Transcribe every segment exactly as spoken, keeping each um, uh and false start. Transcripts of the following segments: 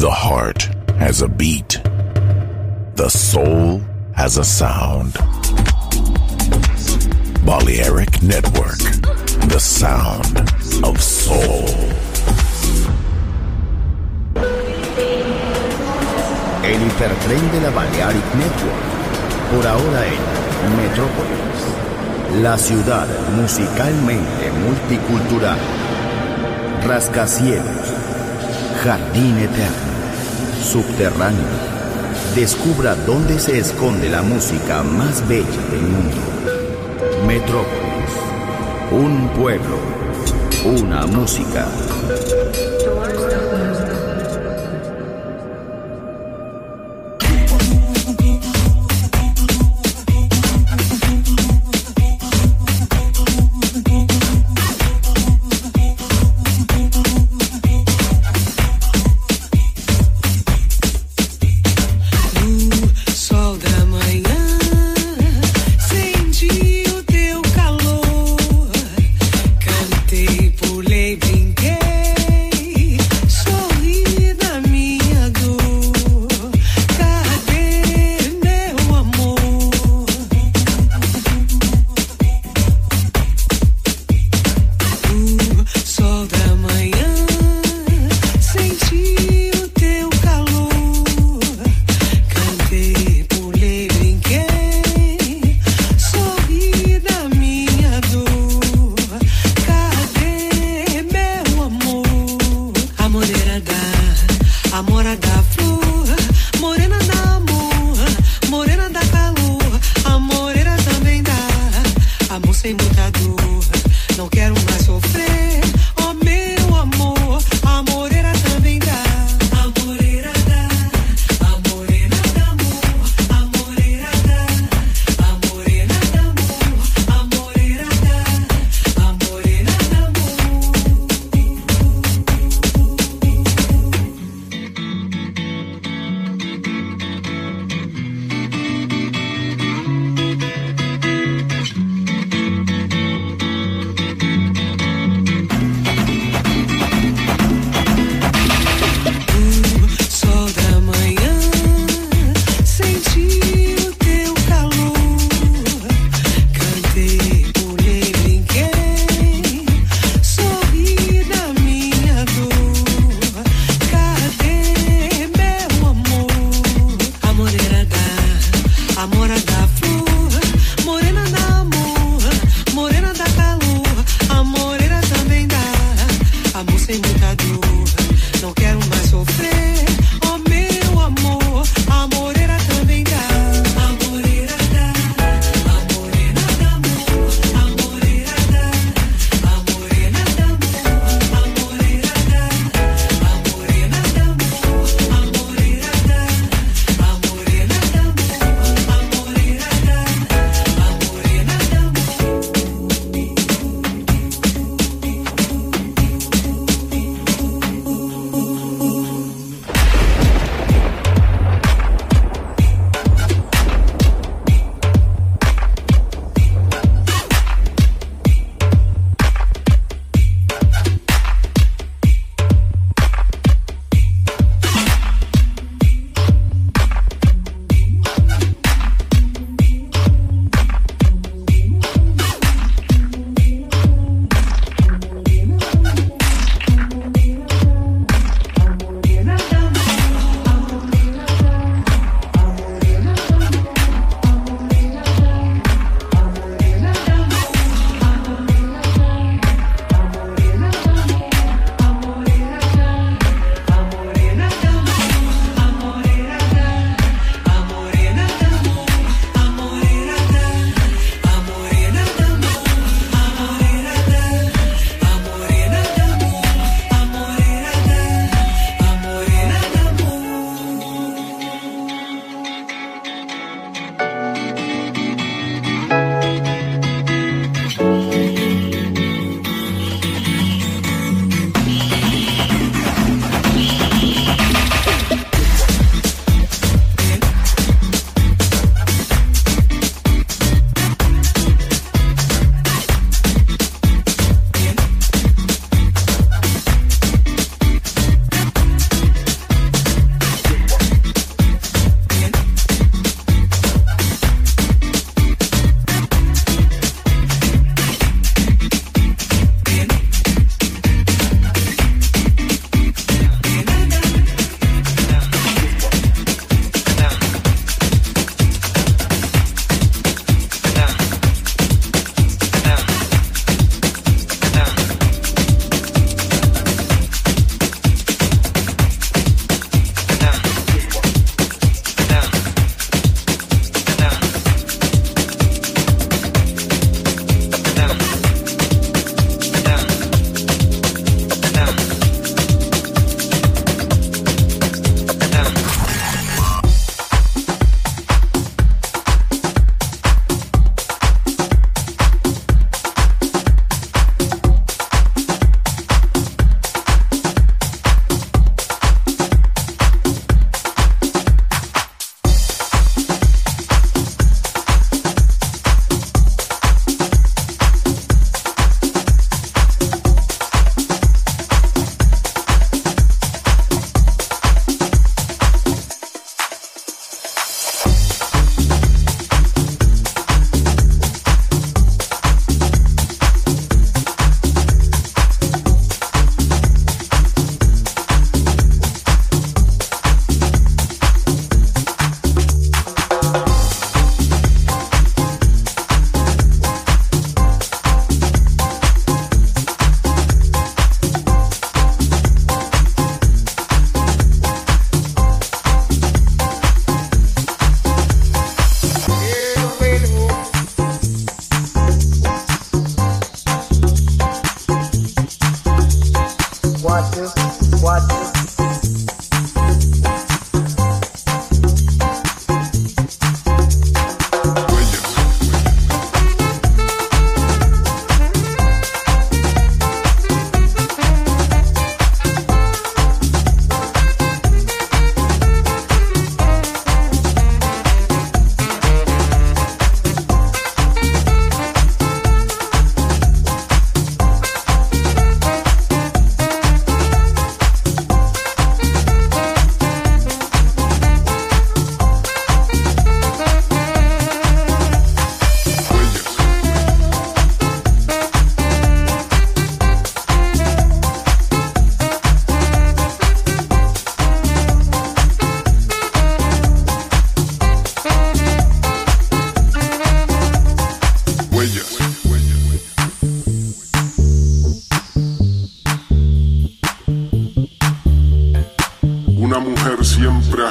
The heart has a beat. The soul has a sound. Balearic Network, the sound of soul. El hipertren de la Balearic Network, por ahora en Metrópolis, la ciudad musicalmente multicultural. Rascacielos, jardín eterno, subterráneo. Descubra dónde se esconde la música más bella del mundo. Metrópolis, un pueblo, una música. Pulei, brinquei.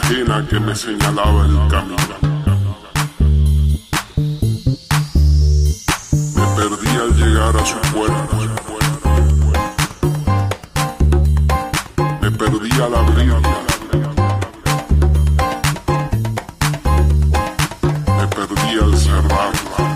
ajena que me señalaba el camino. Me perdí al llegar a su puerta. Me perdí al abrirla. Me perdí al cerrarla.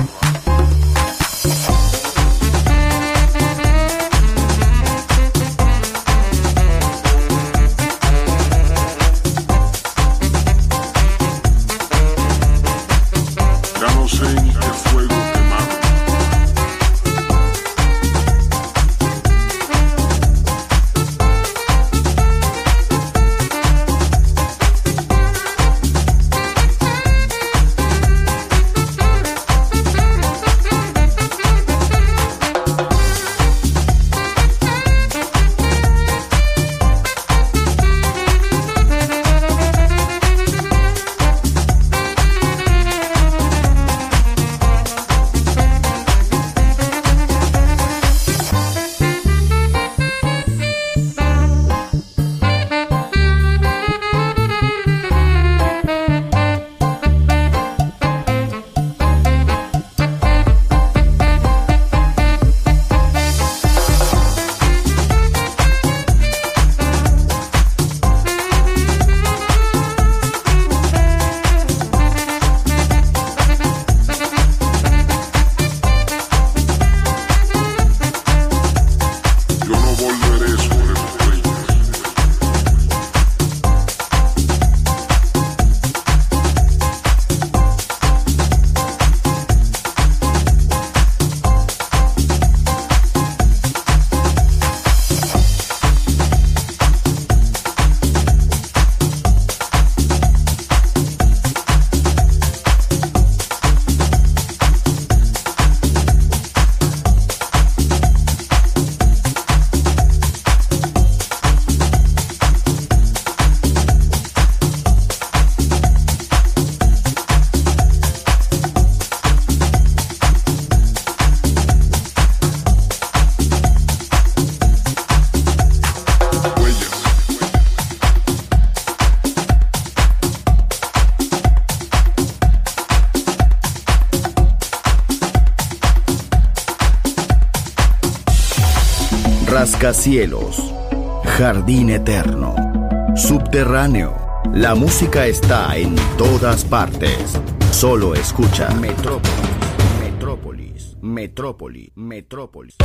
Rascacielos, jardín eterno, subterráneo. La música está en todas partes. Solo escucha Metrópolis, Metrópolis, Metrópolis, Metrópolis.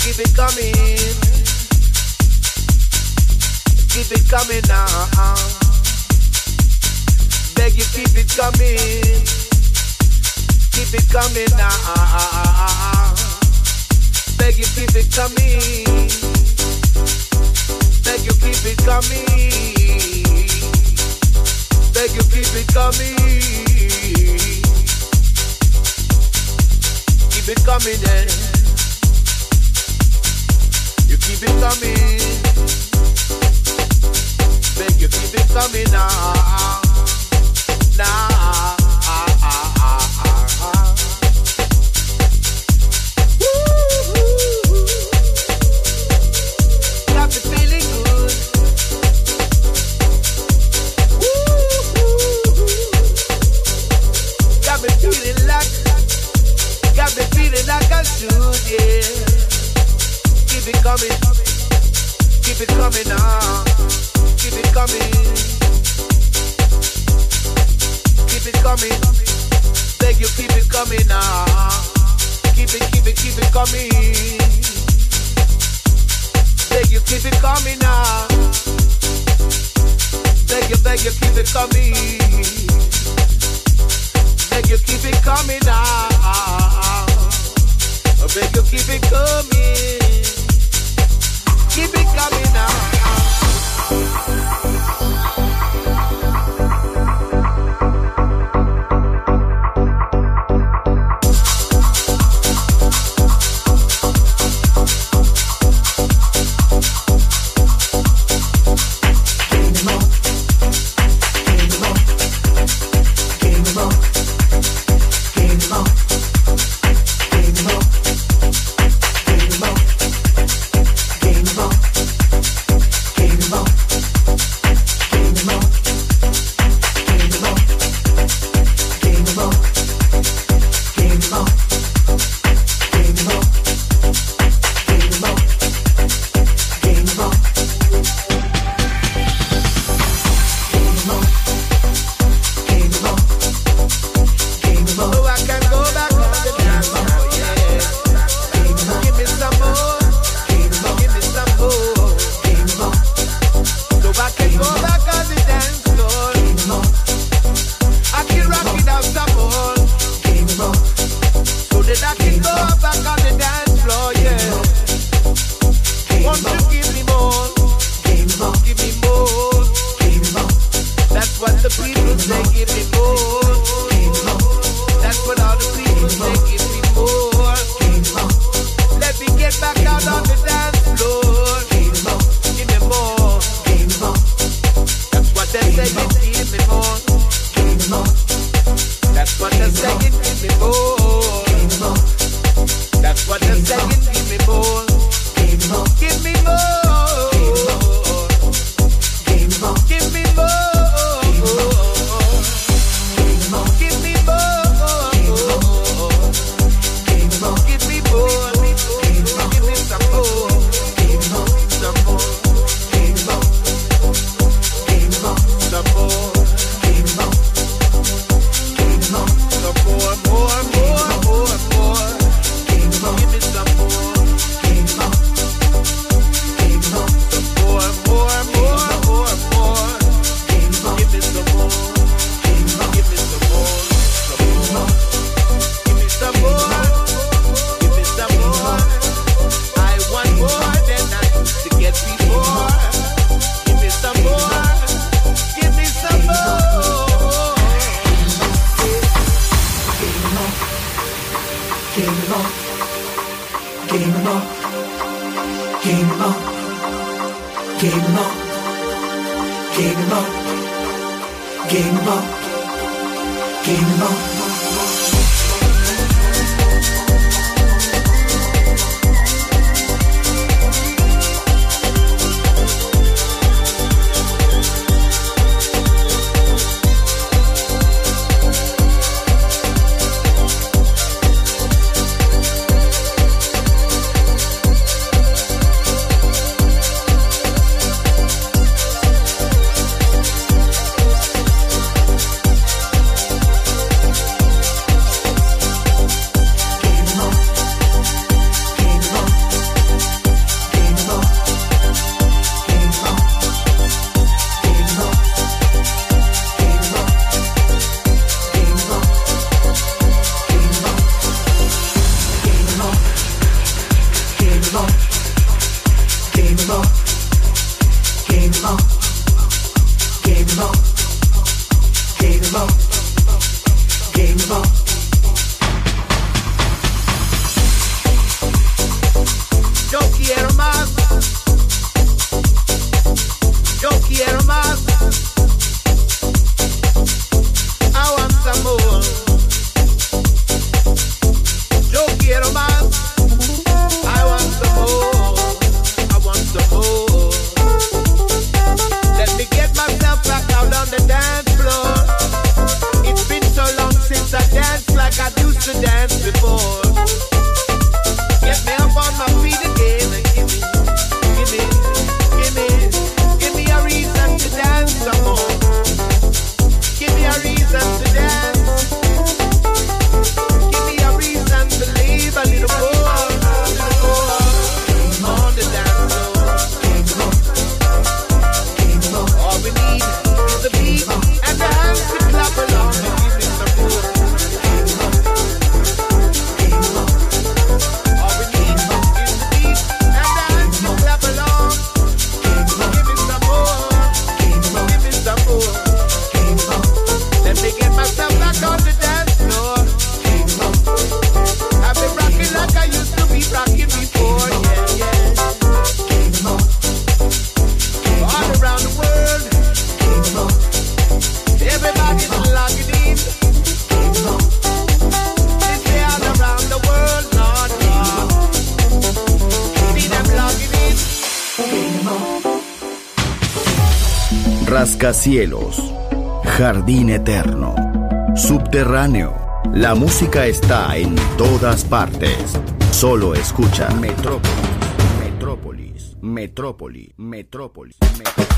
keep it coming. Keep it coming now. Beg you, keep it coming. Keep it coming now. Beg you, keep it coming. Beg you, keep it coming. Beg you, keep it coming. Keep it coming, then. You keep it coming. Beg you, keep it coming now. Now. Got me feeling good. Got me feeling like, got me feeling like I should, yeah. Keep it coming, keep it coming now. Keep it coming, keep it coming. Beg you, keep it coming now. Keep it, keep it, keep it coming. Beg you, keep it coming now. Beg you, beg you, keep it coming. Beg you, keep it coming now. Beg you, keep it coming. Keep it coming now. Rascacielos, Jardín Eterno, Subterráneo. La música está en todas partes. Solo escucha Metrópolis, Metrópolis, Metrópolis, Metrópolis, Metrópolis.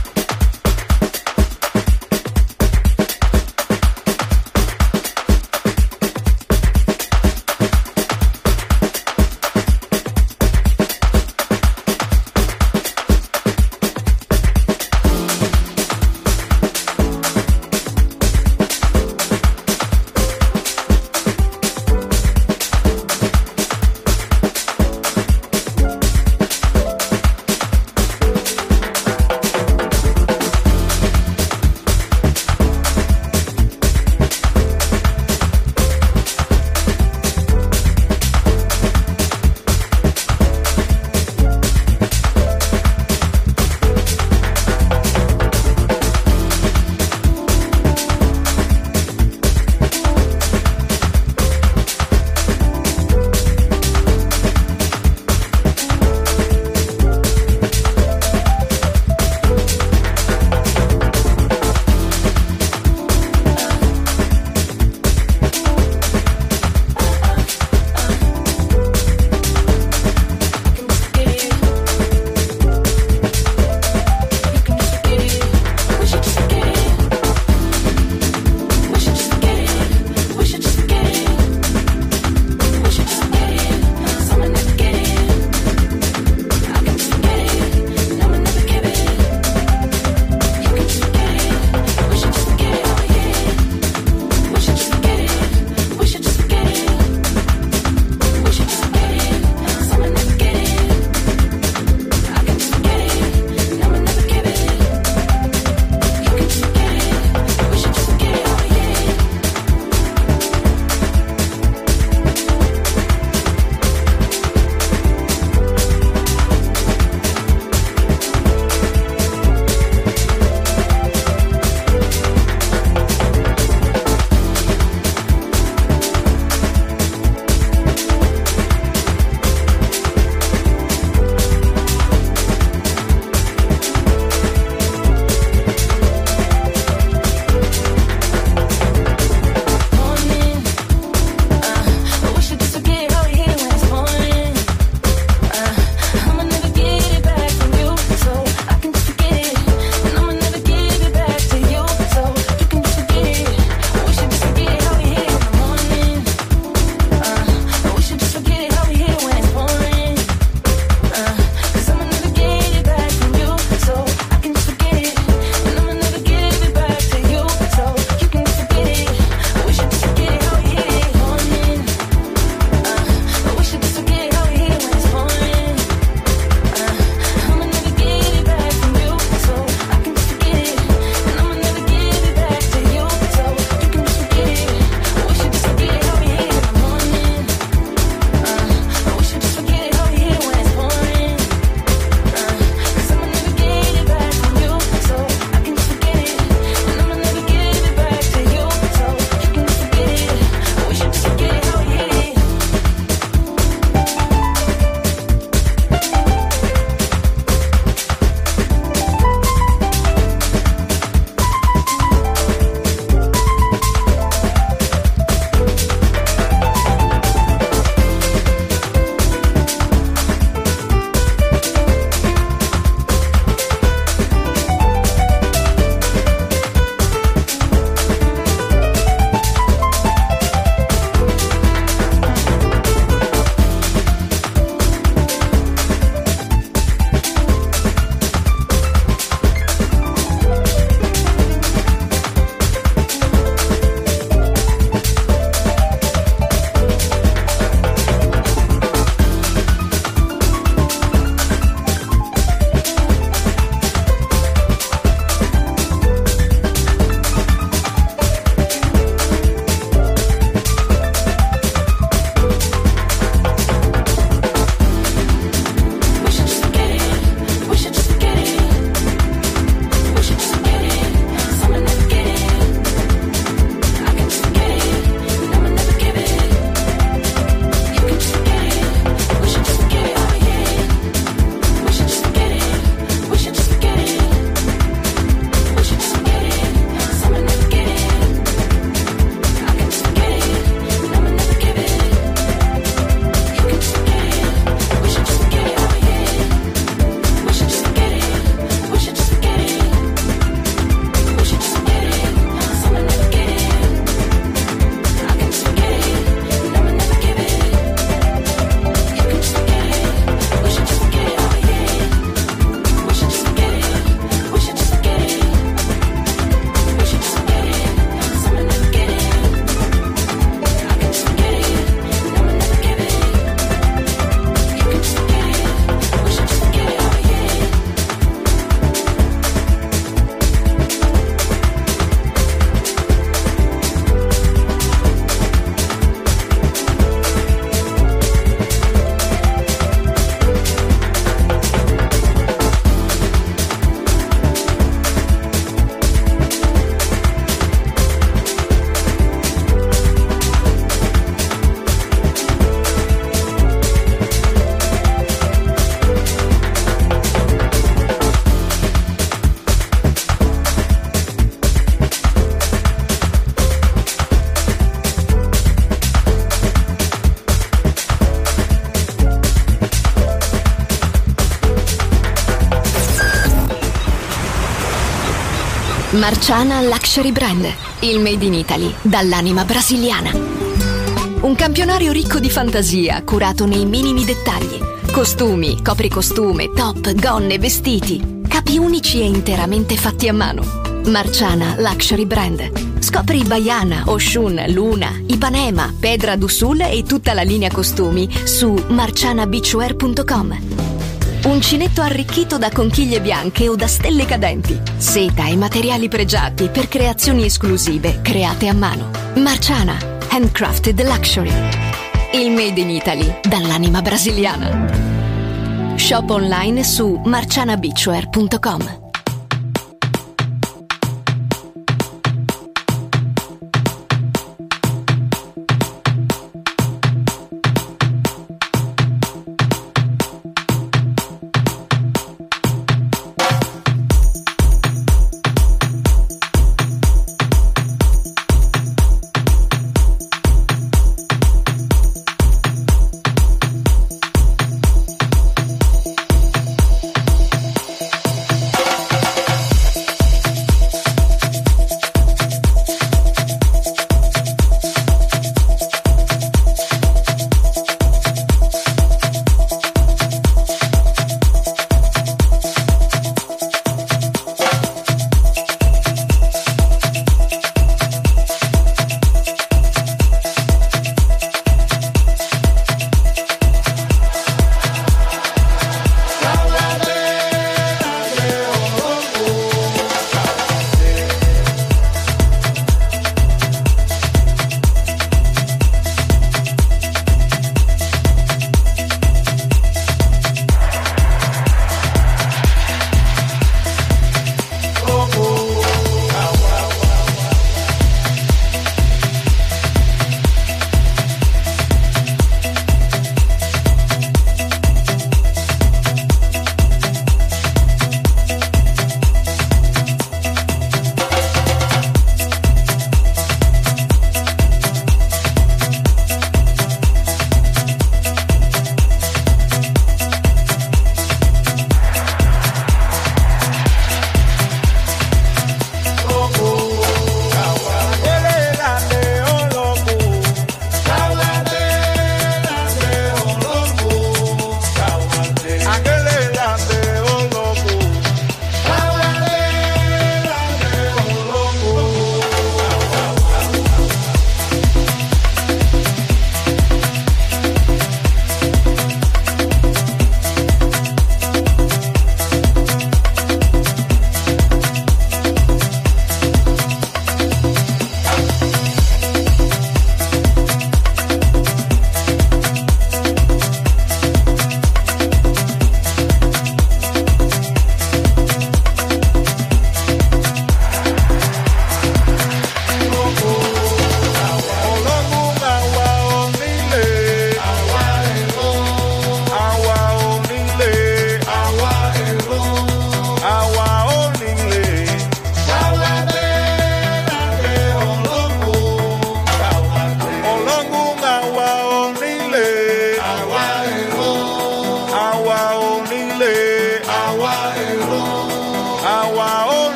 Marciana Luxury Brand, il made in Italy dall'anima brasiliana. Un campionario ricco di fantasia, curato nei minimi dettagli. Costumi, copricostume, top, gonne, vestiti. Capi unici e interamente fatti a mano. Marciana Luxury Brand. Scopri Baiana, Oshun, Luna, Ipanema, Pedra do Sul e tutta la linea costumi su marciana beachwear punto com. Uncinetto arricchito da conchiglie bianche o da stelle cadenti. Seta e materiali pregiati per creazioni esclusive create a mano. Marciana, handcrafted luxury. Il made in Italy dall'anima brasiliana. Shop online su marciana beachwear punto com.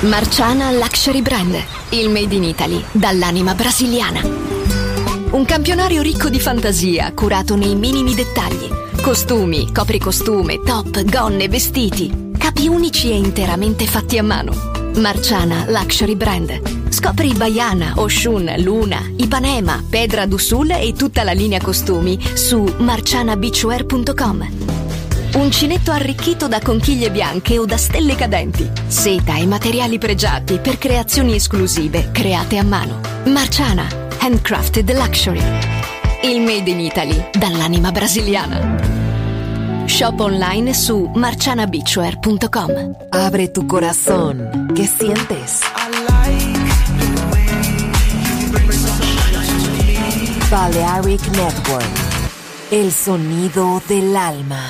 Marciana Luxury Brand, il made in Italy dall'anima brasiliana. Un campionario ricco di fantasia, curato nei minimi dettagli. Costumi, copricostume, top, gonne, vestiti. Capi unici e interamente fatti a mano. Marciana Luxury Brand. Scopri Baiana, Oshun, Luna, Ipanema, Pedra do Sul e tutta la linea costumi su marciana beachwear punto com. Uncinetto arricchito da conchiglie bianche o da stelle cadenti. Seta e materiali pregiati per creazioni esclusive create a mano. Marciana, handcrafted luxury. Il made in Italy dall'anima brasiliana. Shop online su marciana beachwear punto com. Abre tu corazón. ¿Qué sientes? Balearic Network. El sonido del alma.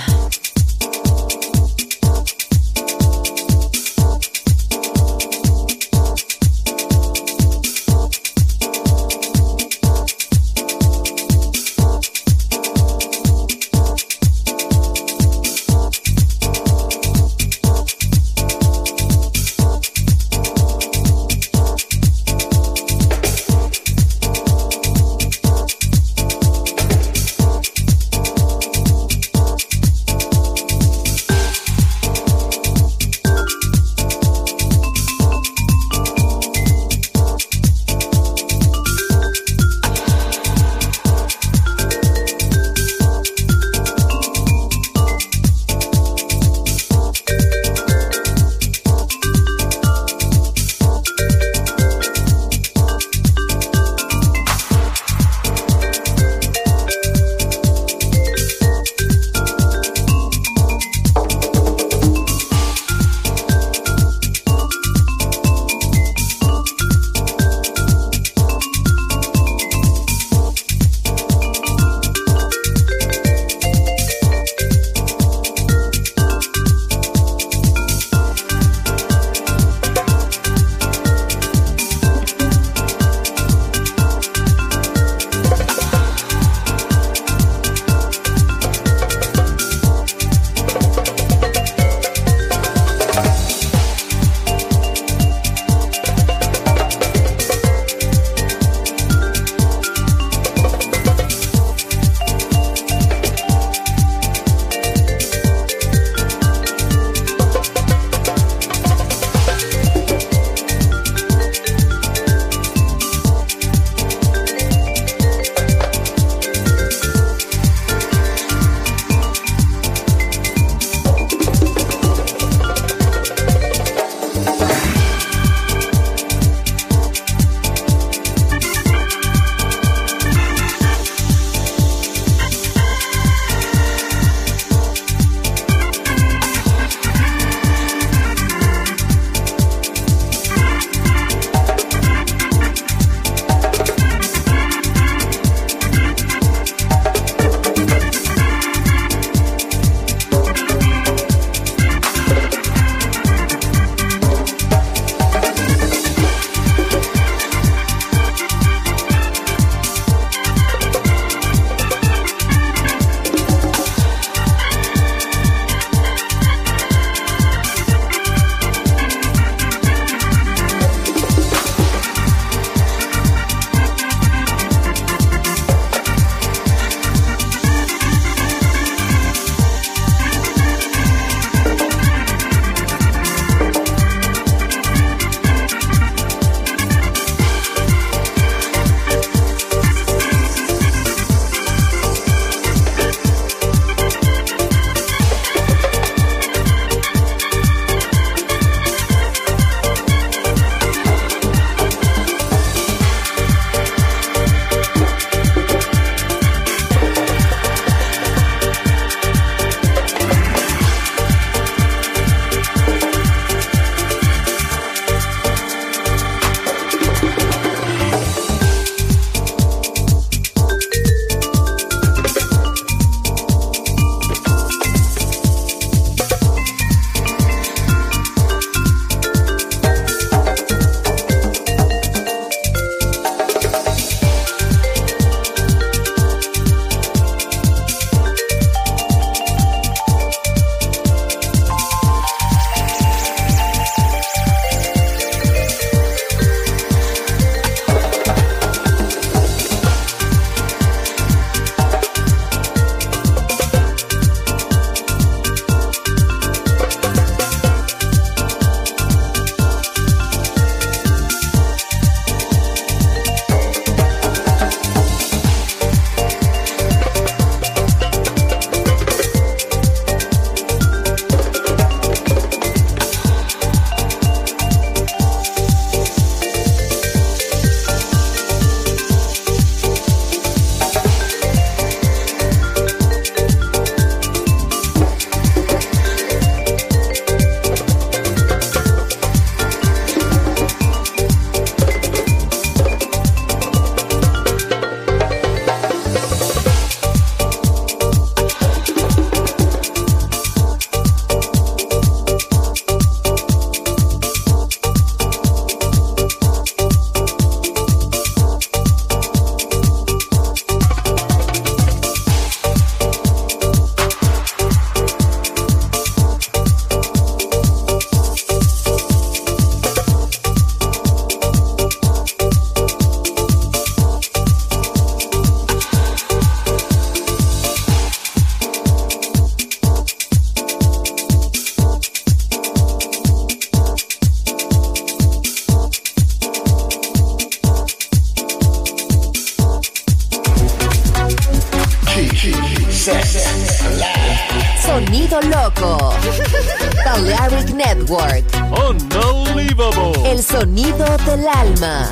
Sonido loco. Balearic Network. Unbelievable. El sonido del alma.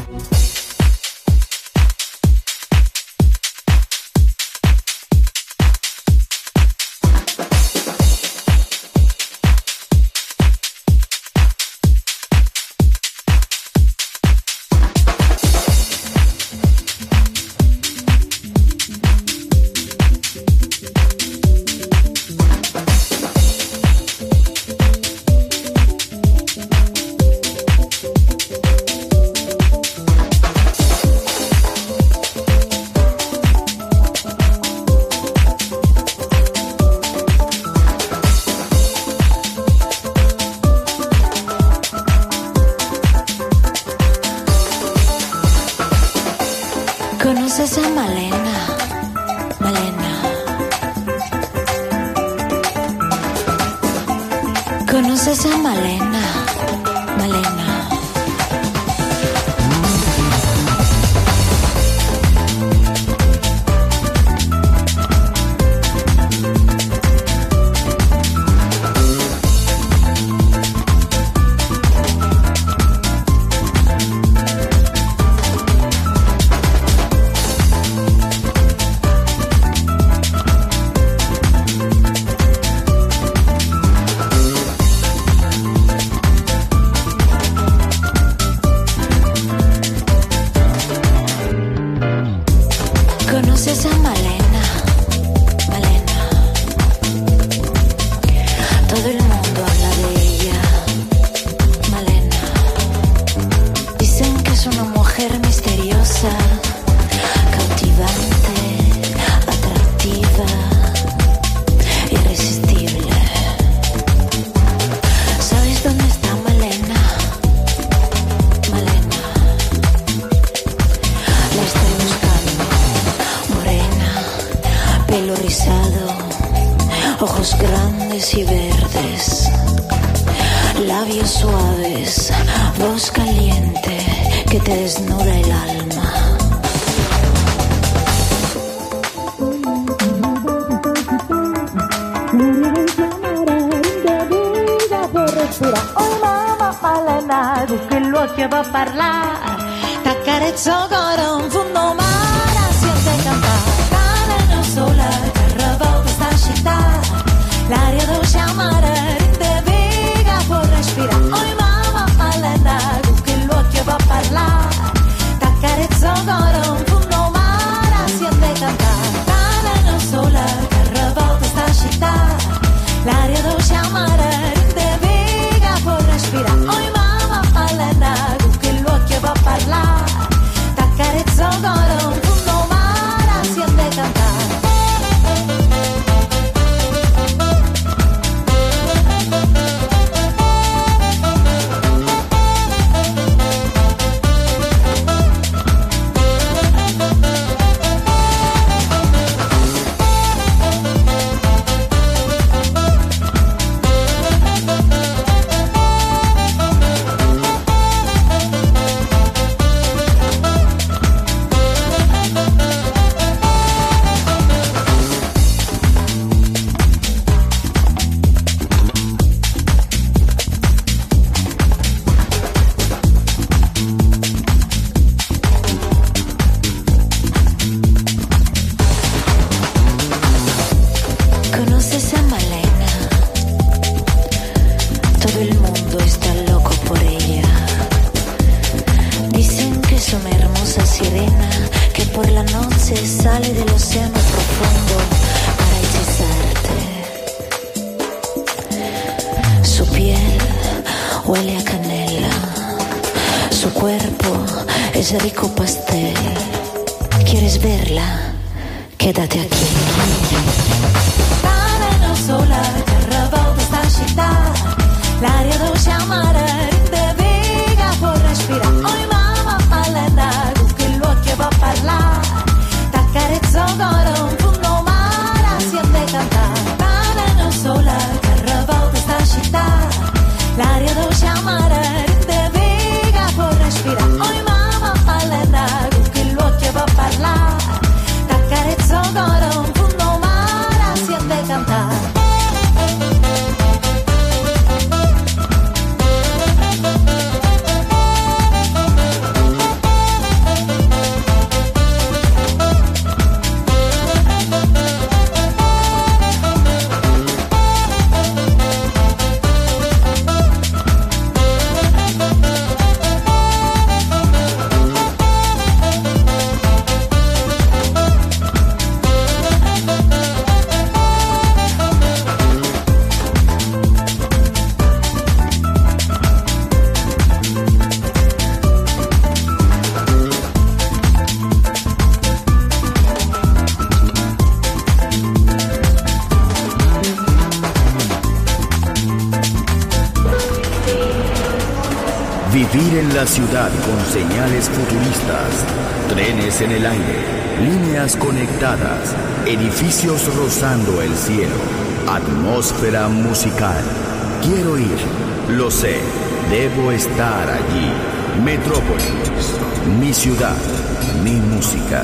¿Conoces a Malena? Malena. ¿Conoces a Malena? Malena. ¿Conoces a Malena? Malena. Todo el mundo habla de ella. Malena. Dicen que es una mujer misteriosa, cautivante, atractiva, irresistible. ¿Sabes dónde está Malena? Malena. La estoy buscando. Morena, pelo rizado, ojos grandes y verdes, labios suaves, voz caliente que te desnuda el alma. Oh mamma Malena, tu che lo che va a parlare, t'accarezzo ancora un fondo mare, siente cantare, non sola, carro questa città, l'aria dolce amare, rinde viga, può respirare. Oh mamma Malena, tu che lo che va a parlare, t'accarezzo ancora un fondo mare, siente cantare, non sola, carro questa città, l'aria dolce amare, rinde viga, può respirare. Oh mamma Malena, tu che lo che va a parlare, t'accarezzo ancora un fondo mare, siente cantare. ¿Conoces a Malena? Todo el mundo está loco por ella. Dicen que es una hermosa sirena que por la noche sale del océano profundo para hechizarte. Su piel huele a canela, su cuerpo es rico pastel. ¿Quieres verla? Quédate aquí. Sola, carro questa città, l'aria dolce amare, rinde viga, può respirare. Oh mamma Malena, tu che lo che va a parlare, t'accarezzo ancora un fondo mare, siente cantare. Non sola, carro questa città, l'aria dolce amare, rinde viga, può respirare. Oh mamma Malena, tu che lo che va a parlare, t'accarezzo ancora un fondo mare, Vivir en la ciudad con señales futuristas, trenes en el aire, líneas conectadas, edificios rozando el cielo, atmósfera musical. Quiero ir, lo sé, debo estar allí. Metrópolis, mi ciudad, mi música.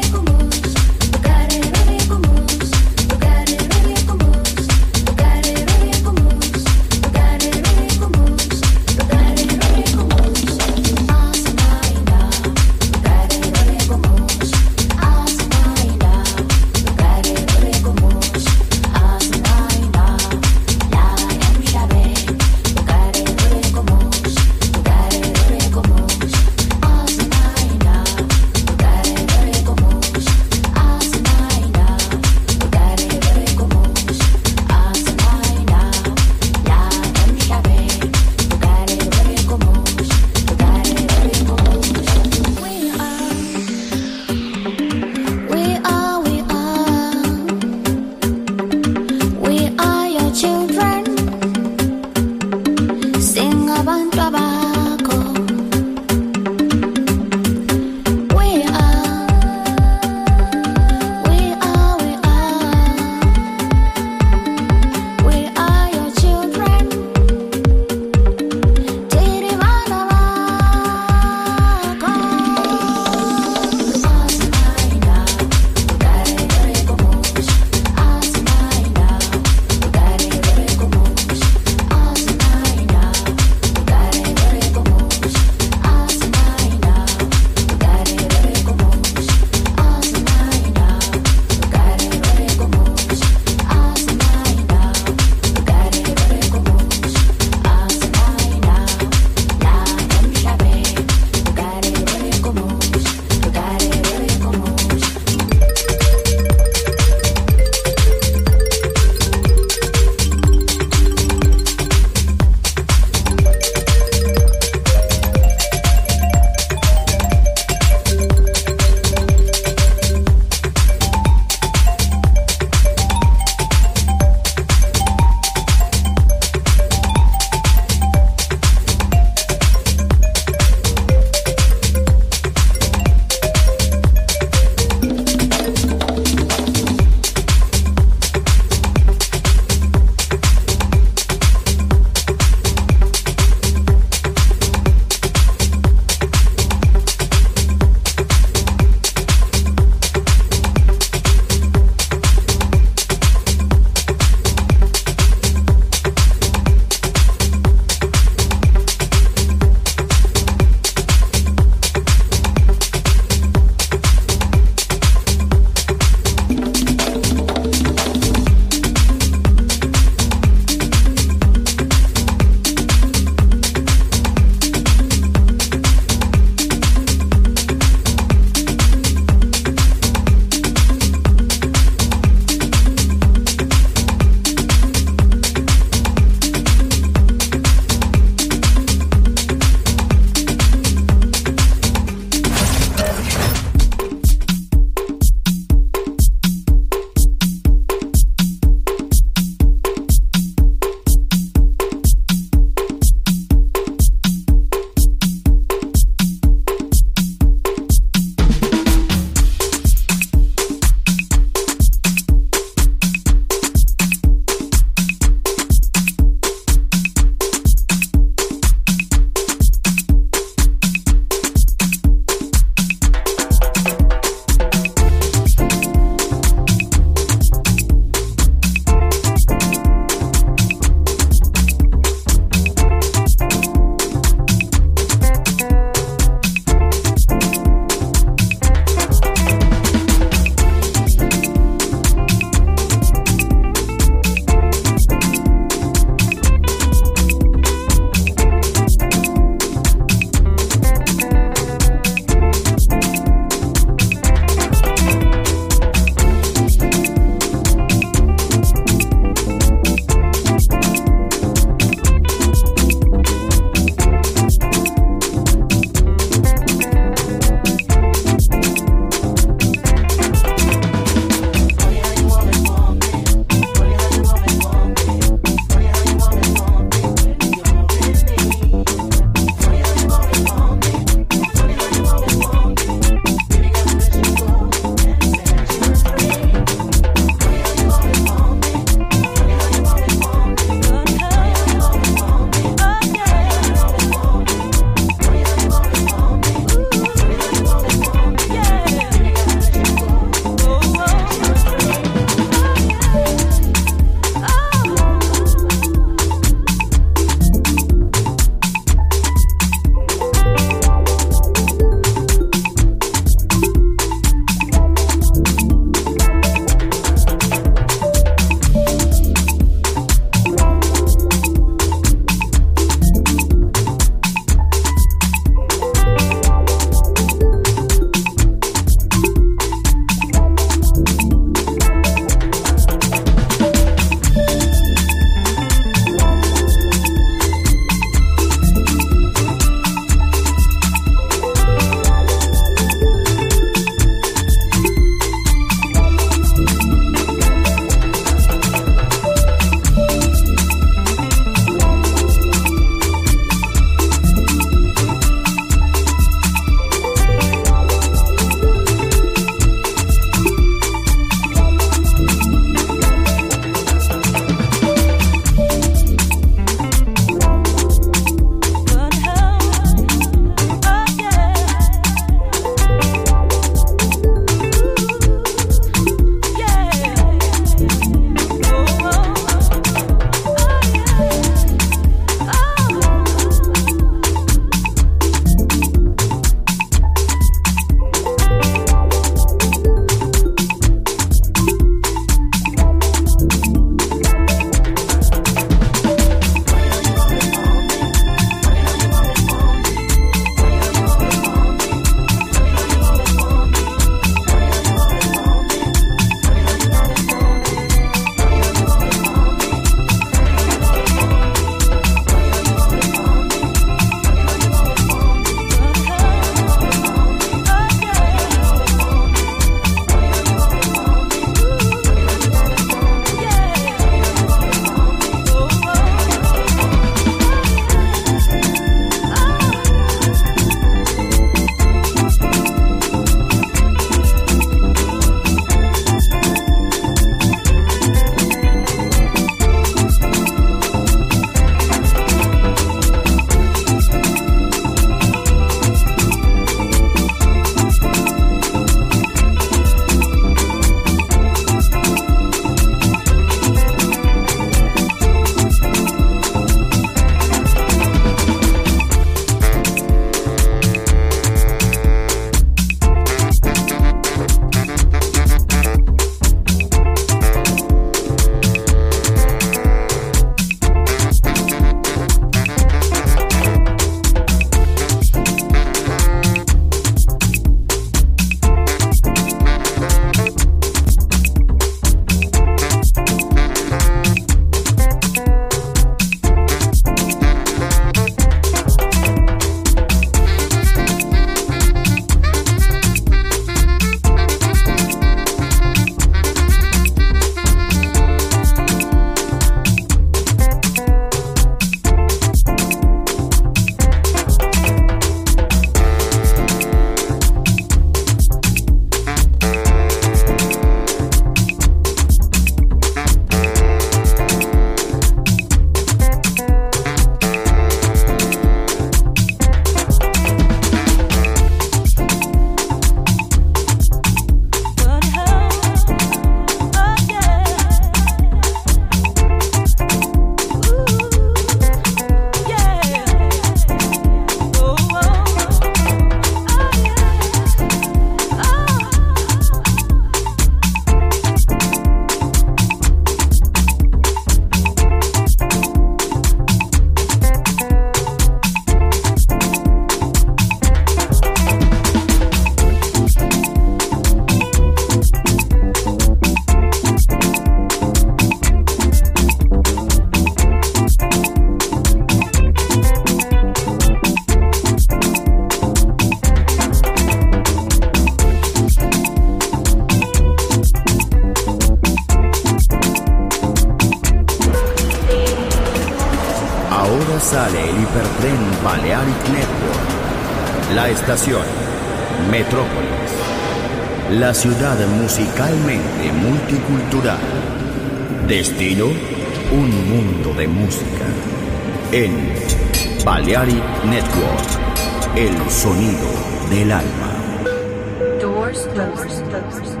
sale el hipertren Balearic Network. La estación Metrópolis. La ciudad musicalmente multicultural. Destino, un mundo de música. En Balearic Network, el sonido del alma. Doors closed.